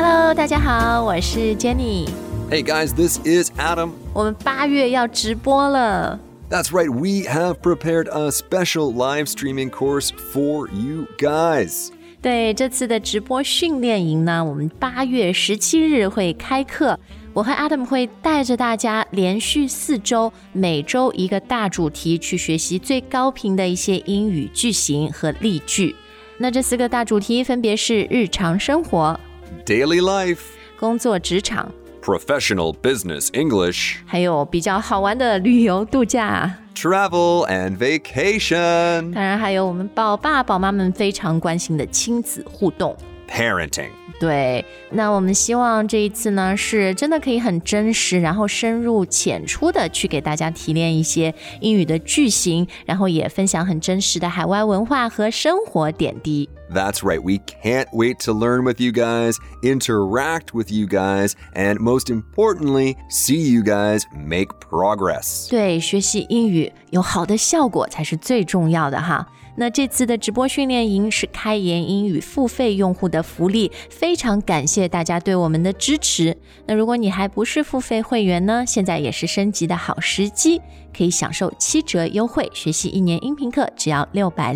Hello， 大家好，我是 Jenny。Hey guys, this is Adam. 我们8月要直播了。 That's right, we have prepared a special live streaming course for you guys. 对，这次的直播训练营呢，我们8月17日会开课。我和 Adam 会带着大家连续4周，每周一个大主题去学习最高频的一些英语句型和例句。那这4个大主题分别是日常生活、 Daily life、 工作职场、 Professional business English， 还有比较好玩的旅游度假、 Travel and vacation， 当然还有我们宝爸宝妈们非常关心的亲子互动 Parenting。 对，那我们希望这一次呢是真的可以很真实，然后深入浅出的去给大家提炼一些英语的句型，然后也分享很真实的海外文化和生活点滴。 That's right, we can't wait to learn with you guys, interact with you guys, and most importantly, see you guys make progress. 对，学习英语有好的效果才是最重要的哈。那这次的直播训练营是开言英语付费用户的福利，非常感谢大家对我们的支持。那如果你还不是付费会员呢，现在也是升级的好时机，可以享受7折优惠，学习1年音频课只要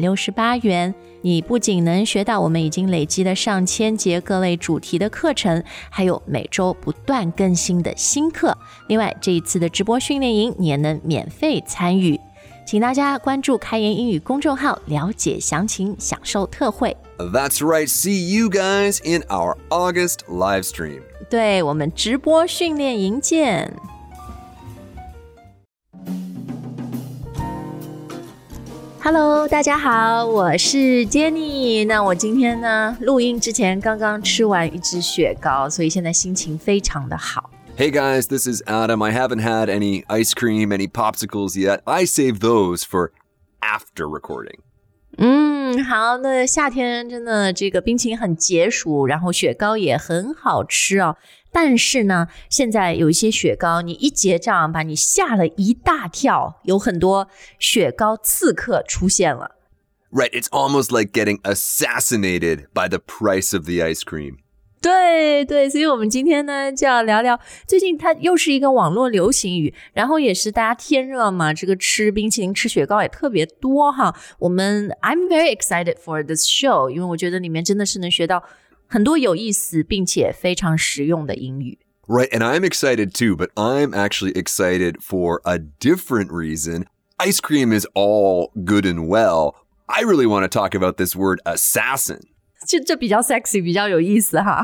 668元。你不仅能学到我们已经累积的上千节各类主题的课程，还有每周不断更新的新课。另外，这一次的直播训练营你也能免费参与。请大家关注开言英语公众号，了解详情，享受特惠。 That's right, see you guys in our August live stream. 对，我们直播训练营见。Hello， 大家好，我是 Jenny。那我今天呢，录音之前刚刚吃完一支雪糕，所以现在心情非常的好。 Hey guys, this is Adam. I haven't had any ice cream, any popsicles yet. I save those for after recording. 好，那夏天真的这个冰淇淋很解暑，然后雪糕也很好吃哦。但是呢，现在有一些雪糕，你一结账把你吓了一大跳，有很多雪糕刺客出现了。 Right, it's almost like getting assassinated by the price of the ice cream. 对对，所以我们今天呢就要聊聊，最近它又是一个网络流行语，然后也是大家天热嘛，这个吃冰淇淋吃雪糕也特别多哈。I'm very excited for this show， 因为我觉得里面真的是能学到很多有意思并且非常实用的英语。 Right, and I'm excited too, but I'm actually excited for a different reason. Ice cream is all good and well. I really want to talk about this word assassin. 这比较 sexy， 比较有意思哈。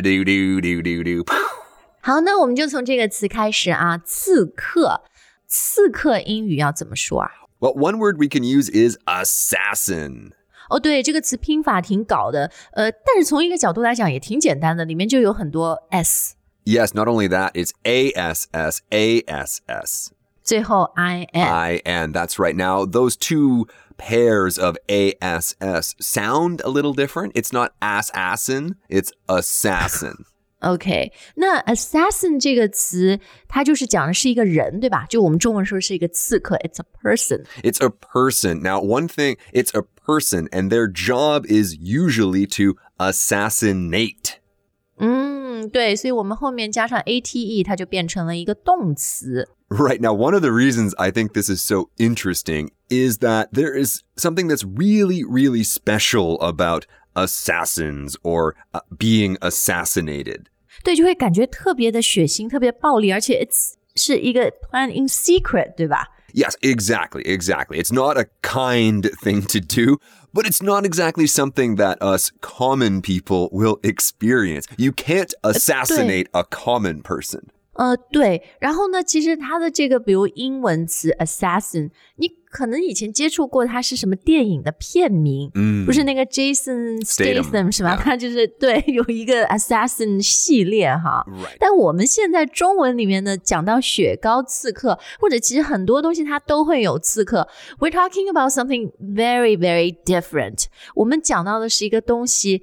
好，那我们就从这个词开始啊，刺客。刺客英语要怎么说啊？ Well, one word we can use is assassin. 哦，对，这个词拼法挺搞的，但是从一个角度来讲也挺简单的，里面就有很多 s。Yes, not only that, it's ASS, ASS. 最后 IN. That's right. Now, those two pairs of ASS sound a little different. It's not assassin, it's assassin. OK, 那 assassin 这个词它就是讲的是一个人，对吧？就我们中文说是一个刺客 It's a person. It's a person. Now, one thing, it's a person and their job is usually to assassinate. 对，所以我们后面加上 ate 它就变成了一个动词。 Right. Now, one of the reasons I think this is so interesting is that there is something that's really, really special about assassins or being assassinated. 对，就会感觉特别的血腥，特别暴力，而且是一个 plan in secret， 对吧？ Yes, exactly. It's not a kind thing to do, but it's not exactly something that us common people will experience. You can't assassinate a common person. 对，然后呢，其实它的这个比如英文词 assassin， 你可能以前接触过它是什么电影的片名，不是那个 Jason Statham 是吧？他就是对有一个 assassin 系列哈。 Right. 但我们现在中文里面呢，讲到雪糕刺客，或者其实很多东西它都会有刺客。We're talking about something very, very different. 我们讲到的是一个东西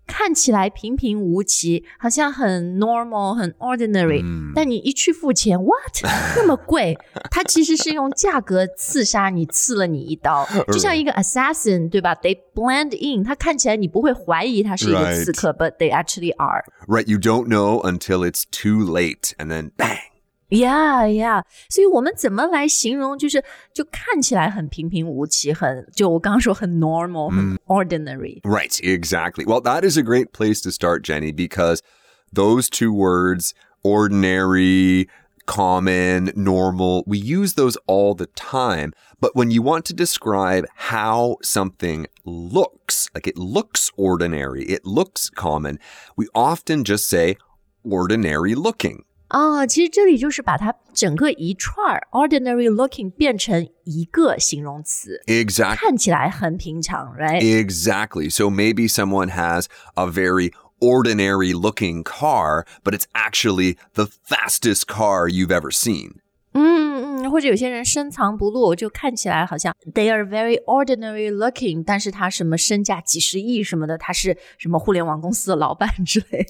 看起来平平无奇，好像很 normal 很 ordinary，但你一去付钱 what 那么贵，它其实是用价格刺杀你，刺了你一刀，就像一个 assassin 对吧， they blend in， 它看起来你不会怀疑它是一个刺客 but they actually are. Right, you don't know until it's too late and then bang.Yeah, 所以我们怎么来形容就看起来很平平无奇，就我刚刚说很 normal, 很 ordinary. Right, exactly. Well, that is a great place to start, Jenny, because those two words, ordinary, common, normal, we use those all the time. But when you want to describe how something looks, like it looks ordinary, it looks common, we often just say ordinary looking. 其实这里就是把它整个一串 ordinary looking 变成一个形容词 Exactly. 看起来很平常 right? Exactly. So maybe someone has a very ordinary looking car, but it's actually the fastest car you've ever seen. 或者有些人深藏不露，就看起来好像 they are very ordinary looking， 但是他什么身价几十亿什么的，他是什么互联网公司的老板之类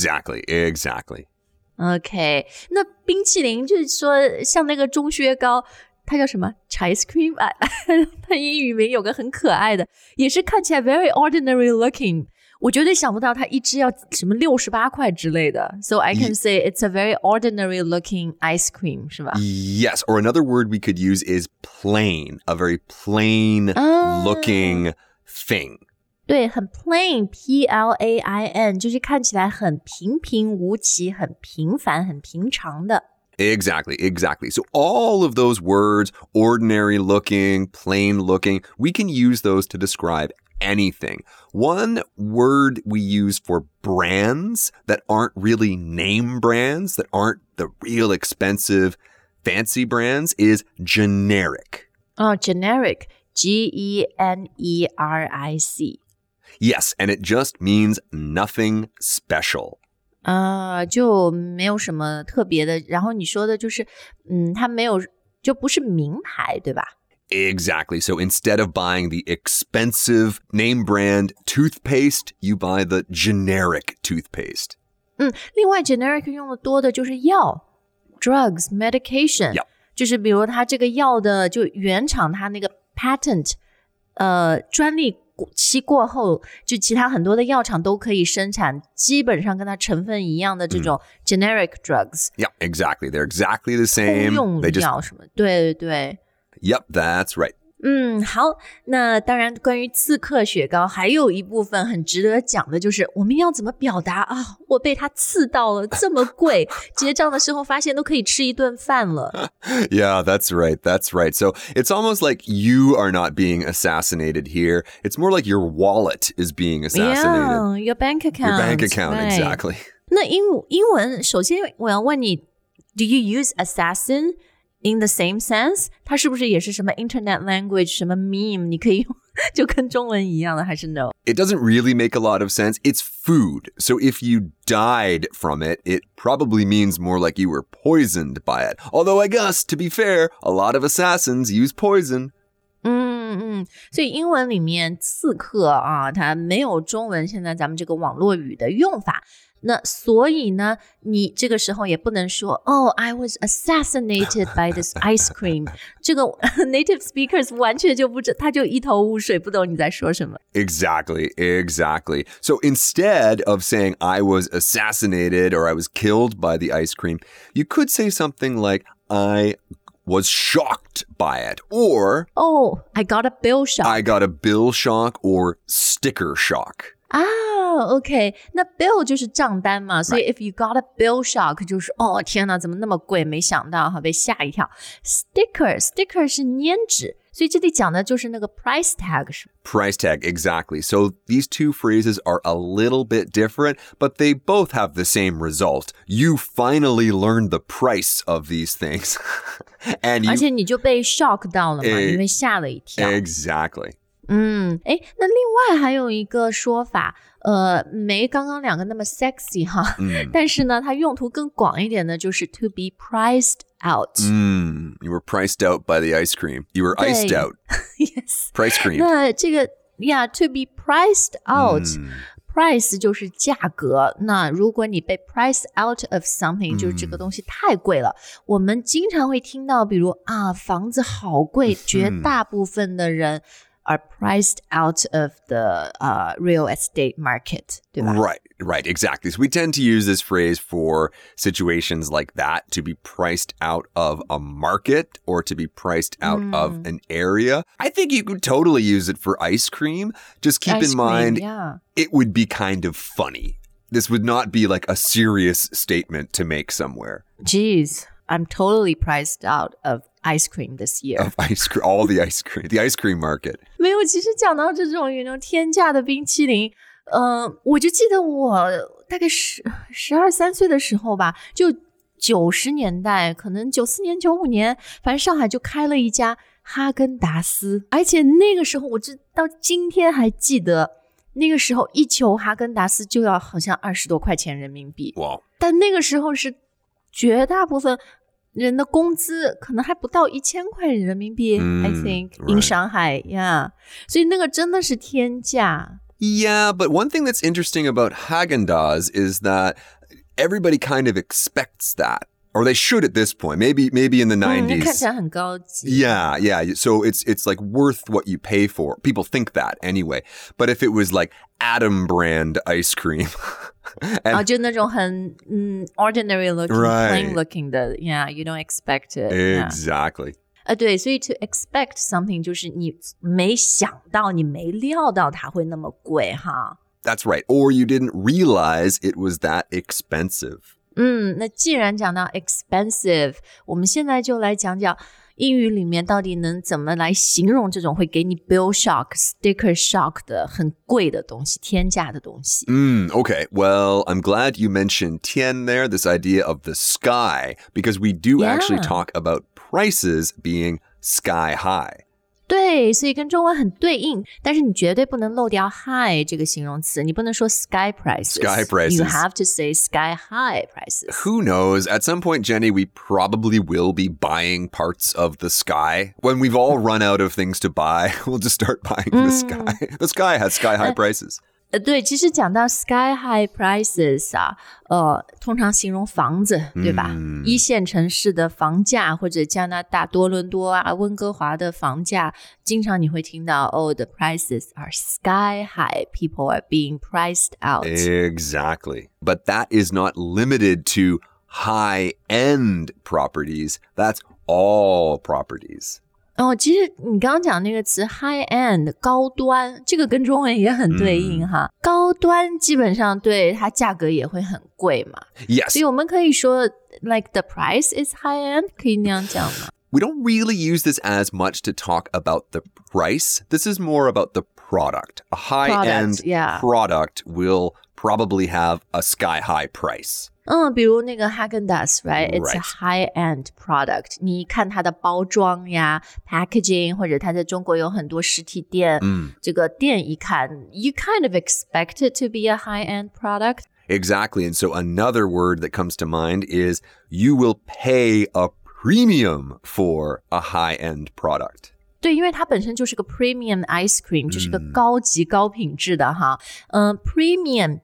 Exactly.OK, 那冰淇淋就是说像那个钟薛高，它叫什么 ice cream 它英语名有个很可爱的，也是看起来 very ordinary looking， 我绝对想不到它一支要什么68块之类的， so I can say it's a very ordinary looking ice cream 是吧？ Yes, or another word we could use is plain, a very plain looking thing. 对，很 plain, P-L-A-I-N 就是看起来很平平无奇，很平凡，很平常的。 Exactly. So all of those words, ordinary looking, plain looking, we can use those to describe anything. One word we use for brands that aren't really name brands, that aren't the real expensive fancy brands is generic. Generic, G-E-N-E-R-I-C.Yes, and it just means nothing special. 就没有什么特别的，然后你说的就是它没有，就不是名牌对吧？ Exactly. So instead of buying the expensive name brand toothpaste, you buy the generic toothpaste. 另外 generic 用的多的就是药 drugs, medication. Yep. 就是比如它这个药的就原厂它那个 patent 专利期过后，就其他很多的药厂都可以生产基本上跟它成分一样的这种 generic drugs. Yeah, exactly. They're exactly the same. 通用药什么，对。 Yep, that's right. 好，那当然关于刺客雪糕还有一部分很值得讲的就是我们要怎么表达啊，我被它刺到了，这么贵，结账的时候发现都可以吃一顿饭了。 Yeah, that's right. So it's almost like you are not being assassinated here. It's more like your wallet is being assassinated. Yeah, your bank account. Your bank account, right. Exactly. 那英文首先我要問你 Do you use assassin?In the same sense, 它是不是也是什么 internet language, 什么 meme, 你可以用就跟中文一样的还是 no? It doesn't really make a lot of sense. It's food. So if you died from it, it probably means more like you were poisoned by it. Although I guess, to be fair, a lot of assassins use poison. 所以英文里面刺客啊，它没有中文现在咱们这个网络语的用法。那所以呢，你这个时候也不能说I was assassinated by this ice cream 这个 native speakers 完全就不知他就一头雾水，不懂你在说什么。 Exactly. So instead of saying I was assassinated or I was killed by the ice cream, you could say something like I was shocked by it, or I got a bill shock. I got a bill shock or sticker shock. OK, 那 bill 就是账单嘛，所以 if you got a bill shock 就是天哪，怎么那么贵，没想到被吓一跳。sticker 是粘纸，所以这里讲的就是那个 price tag 是 Price tag, exactly. So these two phrases are a little bit different, but they both have the same result. You finally learned the price of these things. And 而且你就被 shock 到了嘛，你被吓了一跳。 Exactly. 那另外还有一个说法，没刚刚两个那么 sexy 哈，但是呢，它用途更广一点的就是 to be priced out. You were priced out by the ice cream. You were iced out. Yes. Price cream. 那这个 to be priced out. price 就是价格，那如果你被 price out of something，就是这个东西太贵了。我们经常会听到，比如房子好贵，绝大部分的人are priced out of the real estate market, 对吧？ Right, exactly. So we tend to use this phrase for situations like that, to be priced out of a market or to be priced out of an area. I think you could totally use it for ice cream. Just keep in mind, it would be kind of funny. This would not be like a serious statement to make somewhere. Geez, I'm totally priced out of ice cream this year. Of ice cream, all the ice cream market. 没有，其实讲到这种天价的冰淇淋，我就记得我大概12、13岁的时候吧，就90年代，可能94年、95年，反正上海就开了一家哈根达斯，而且那个时候我到今天还记得，那个时候一球哈根达斯就要好像20多块钱人民币。 Wow. 但那个时候是绝大部分人的工资可能还不到1000块人民币，I think in Shanghai, yeah. 所以那个真的是天价。 Yeah, but one thing that's interesting about Häagen-Dazs is that everybody kind of expects that. Or they should at this point. Maybe in the 90s. 看起来很高级。 Yeah. So it's like worth what you pay for. People think that anyway. But if it was like Adam brand ice cream. 就那种很ordinary looking, Right. plain looking 的 Yeah, you don't expect it. Exactly. 对，所以 to expect something 就是你没想到，你没料到它会那么贵哈。 That's right. Or you didn't realize it was that expensive. 那既然讲到 expensive， 我们现在就来讲讲英语里面到底能怎么来形容这种会给你 bill shock、sticker shock 的很贵的东西、天价的东西。 Okay. Well, I'm glad you mentioned Tian there, this idea of the sky, because we do actually talk about prices being sky high. 对，所以跟中文很对应，但是你绝对不能漏掉 high 这个形容词，你不能说 sky prices. Sky prices. You have to say sky high prices. Who knows? At some point, Jenny, we probably will be buying parts of the sky. When we've all run out of things to buy, we'll just start buying the sky. The sky has sky high prices. 对，其实讲到 sky high prices 通常形容房子，对吧？一线城市的房价，或者加拿大多伦多温哥华的房价，经常你会听到the prices are sky high. People are being priced out. Exactly. But that is not limited to high-end properties. That's all properties. 其实你刚刚讲那个词 high end 高端，这个跟中文也很对应哈。高端基本上对它价格也会很贵嘛。 Yes. 所以我们可以说 like the price is high end， 可以那样讲吗？ We don't really use this as much to talk about the price. This is more about the product. A high-end product will probably have a sky-high price. 比如那个 Häagen-Dazs, right? It's a high-end product. 你看它的包装呀 packaging 或者它在中国有很多实体店这个店一看 you kind of expect it to be a high-end product. Exactly. And so another word that comes to mind is you will pay a premium for a high-end product. 对，因为它本身就是个 premium ice cream， 就是个高级高品质的哈。premium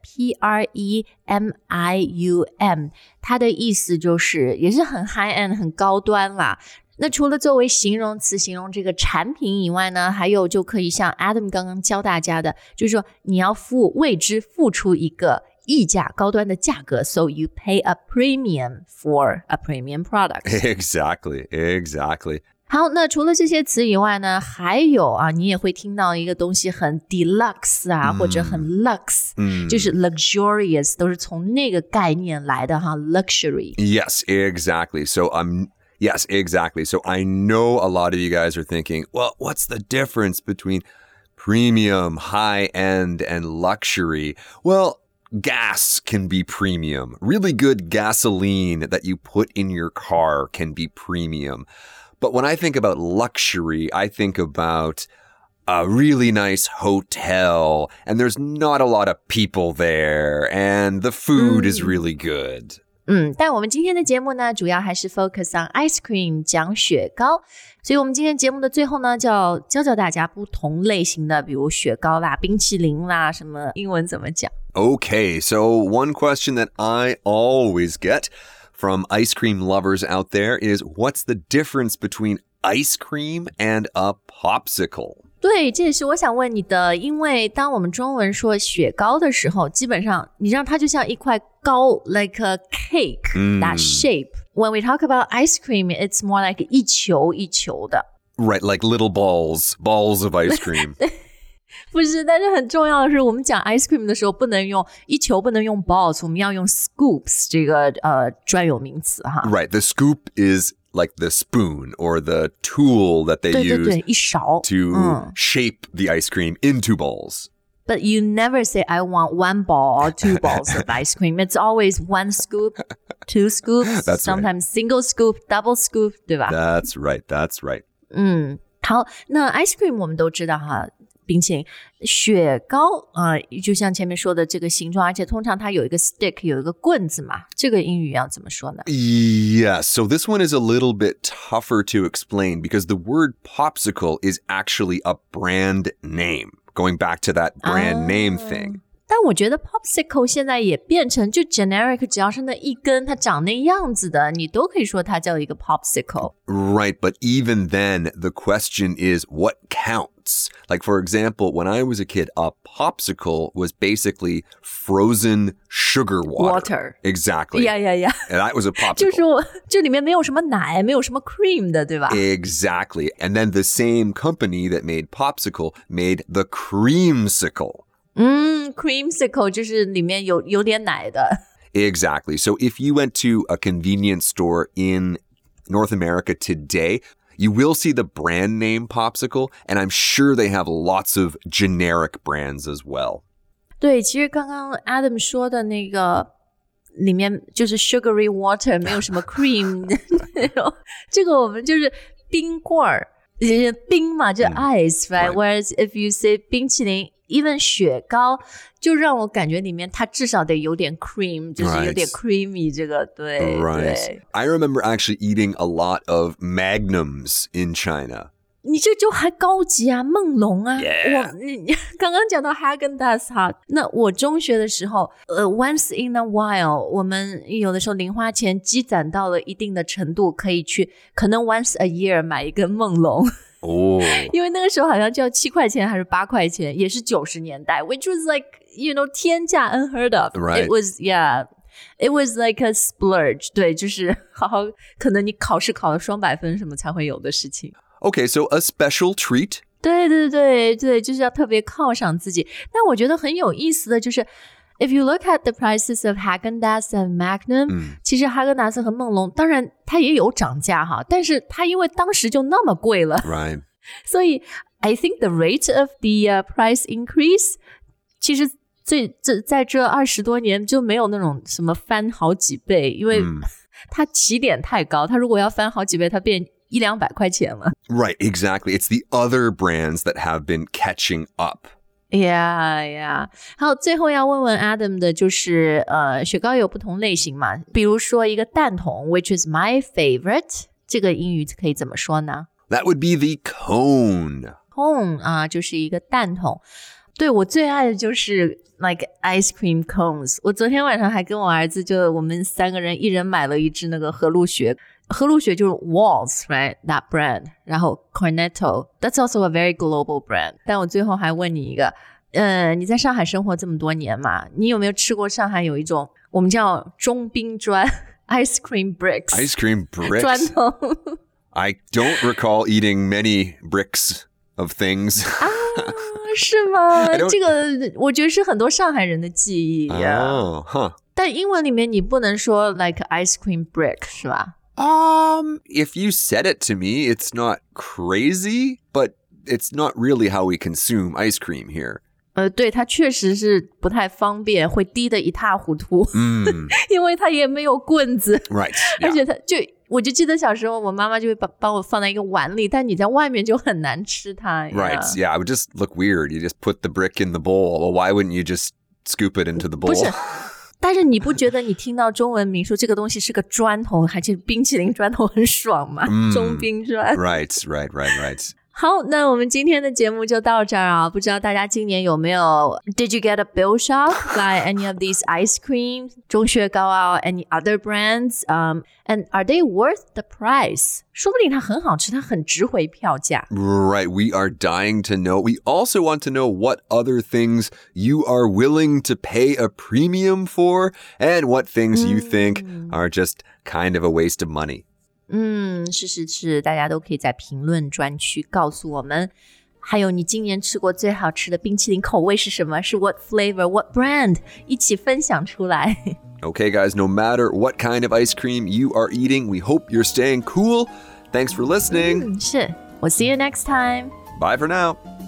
P-R-E-M-I-U-M， 它的意思就是也是很 high end 很高端啦。那除了作为形容词形容这个产品以外呢，还有就可以像 Adam 刚刚教大家的，就是说你要为之付出一个溢价高端的价格 so you pay a premium for a premium product. Exactly. 好，那除了这些词以外呢，还有你也会听到一个东西很 deluxe 或者很 lux，就是 luxurious， 都是从那个概念来的哈 ，luxury. Yes, exactly. So I know a lot of you guys are thinking, well, what's the difference between premium, high-end, and luxury? Well, gas can be premium. Really good gasoline that you put in your car can be premium. But when I think about luxury, I think about a really nice hotel, and there's not a lot of people there, and the food is really good. 但我们今天的节目呢，主要还是 focus on ice cream 讲雪糕，所以我们今天节目的最后呢，就要教大家不同类型的，比如雪糕啦、冰淇淋啦，什么英文怎么讲。 Okay, so one question that I always get from ice cream lovers out there is what's the difference between ice cream and a popsicle? 对，这也是我想问你的，因为当我们中文说雪糕的时候，基本上你让它就像一块糕 like a cake, that shape. When we talk about ice cream, it's more like 一球一球的。 Right, like little balls of ice cream. 不是，但是很重要的是，我们讲 ice cream 的时候，不能用一球，不能用 balls， 我们要用 scoops 这个专有名词哈。 Right, the scoop is like the spoon or the tool that they use 一勺 to shape the ice cream into balls. But you never say, I want 1 ball or 2 balls of ice cream. It's always 1 scoop, 2 scoops, That's sometimes single scoop, double scoop, 对吧？ That's right. 好，那 ice cream 我们都知道哈，冰淇淋、雪糕就像前面说的这个形状，而且通常它有一个 stick， 有一个棍子嘛，这个英语要怎么说呢？ Yes, so this one is a little bit tougher to explain because the word popsicle is actually a brand name, going back to that brand name thing. 但我觉得 popsicle 现在也变成就 generic， 只要是那一根它长那样子的，你都可以说它叫一个 popsicle。 Right, but even then, the question is what counts? Like, for example, when I was a kid, a popsicle was basically frozen sugar water. Exactly. Yeah. And that was a popsicle. 就是说这里面没有什么奶，没有什么 cream 的，对吧？ Exactly. And then the same company that made popsicle made the creamsicle.creamsicle 就是里面有点奶的。 Exactly. So if you went to a convenience store in North America today, you will see the brand name popsicle, and I'm sure they have lots of generic brands as well. 对，其实刚刚 Adam 说的那个里面就是 sugary water， 没有什么 cream 那种，这个我们就是冰棍儿，冰嘛就 ice, right? Whereas if you say 冰淇淋even 雪糕就让我感觉里面它至少得有点 cream， 就是有点 creamy 这个对 Right. I remember actually eating a lot of Magnums in China. 你这就还高级啊，梦龙啊。 Yeah. 你刚刚讲到 Häagen-Dazs 哈，那我中学的时候once in a while 我们有的时候零花钱积攒到了一定的程度，可以去可能 once a year 买一根梦龙。 Oh. 因为那个时候好像就要7块钱还是8块钱，也是90年代 which was like天价 unheard of. Right. It was like a splurge. 对，就是好好可能你考试考了双百分什么才会有的事情。 Okay, so a special treat. 对，就是要特别犒赏自己。但我觉得很有意思的就是If you look at the prices of Häagen-Dazs and Magnum，其实哈根达斯和梦龙当然它也有涨价哈，但是它因为当时就那么贵了， Right. 所以 I think the rate of the price increase 其实在这20多年就没有那种什么翻好几倍，因为它起点太高，它如果要翻好几倍，它变100-200块钱了。 Right, exactly. It's the other brands that have been catching up. Yeah. 好，最后要问问 Adam 的就是雪糕有不同类型嘛，比如说一个蛋筒 which is my favorite， 这个英语可以怎么说呢？ That would be the cone. Cone 就是一个蛋筒。对，我最爱的就是 like ice cream cones。 我昨天晚上还跟我儿子就我们3个人一人买了一支那个和路雪就是 Walls, right? That brand. 然后 Cornetto, that's also a very global brand. 但我最后还问你一个，你在上海生活这么多年嘛，你有没有吃过上海有一种我们叫中冰砖 ice cream bricks? Ice cream bricks? 砖头。 I don't recall eating many bricks of things. 是吗？这个我觉得是很多上海人的记忆呀。 Oh, huh. 但英文里面你不能说 like ice cream brick 是吧？ If you said it to me, it's not crazy, but it's not really how we consume ice cream here. 对，它确实是不太方便，会滴得一塌糊涂。因为它也没有棍子。 Right. 而且我就记得小时候我妈妈就会把我放在一个碗里，但你在外面就很难吃它。 Right. Yeah, it would just look weird. You just put the brick in the bowl. Well, why wouldn't you just scoop it into the bowl? 不是但是你不觉得你听到中文名说这个东西是个砖头，还是冰淇淋砖头很爽吗？中冰砖。 Right. 好，那我们今天的节目就到这儿啊。不知道大家今年有没有 Did you get a bill shock by any of these ice creams? 钟薛高啊 any other brands? And are they worth the price? 说不定它很好吃，它很值回票价。 Right. We are dying to know. We also want to know what other things you are willing to pay a premium for and what things you think are just kind of a waste of money. 是，大家都可以在评论专区告诉我们。还有你今年吃过最好吃的冰淇淋口味是什么？是 what flavor, what brand? 一起分享出来。 Okay, guys, no matter what kind of ice cream you are eating, we hope you're staying cool. Thanks for listening. 是，我 see you next time. Bye for now.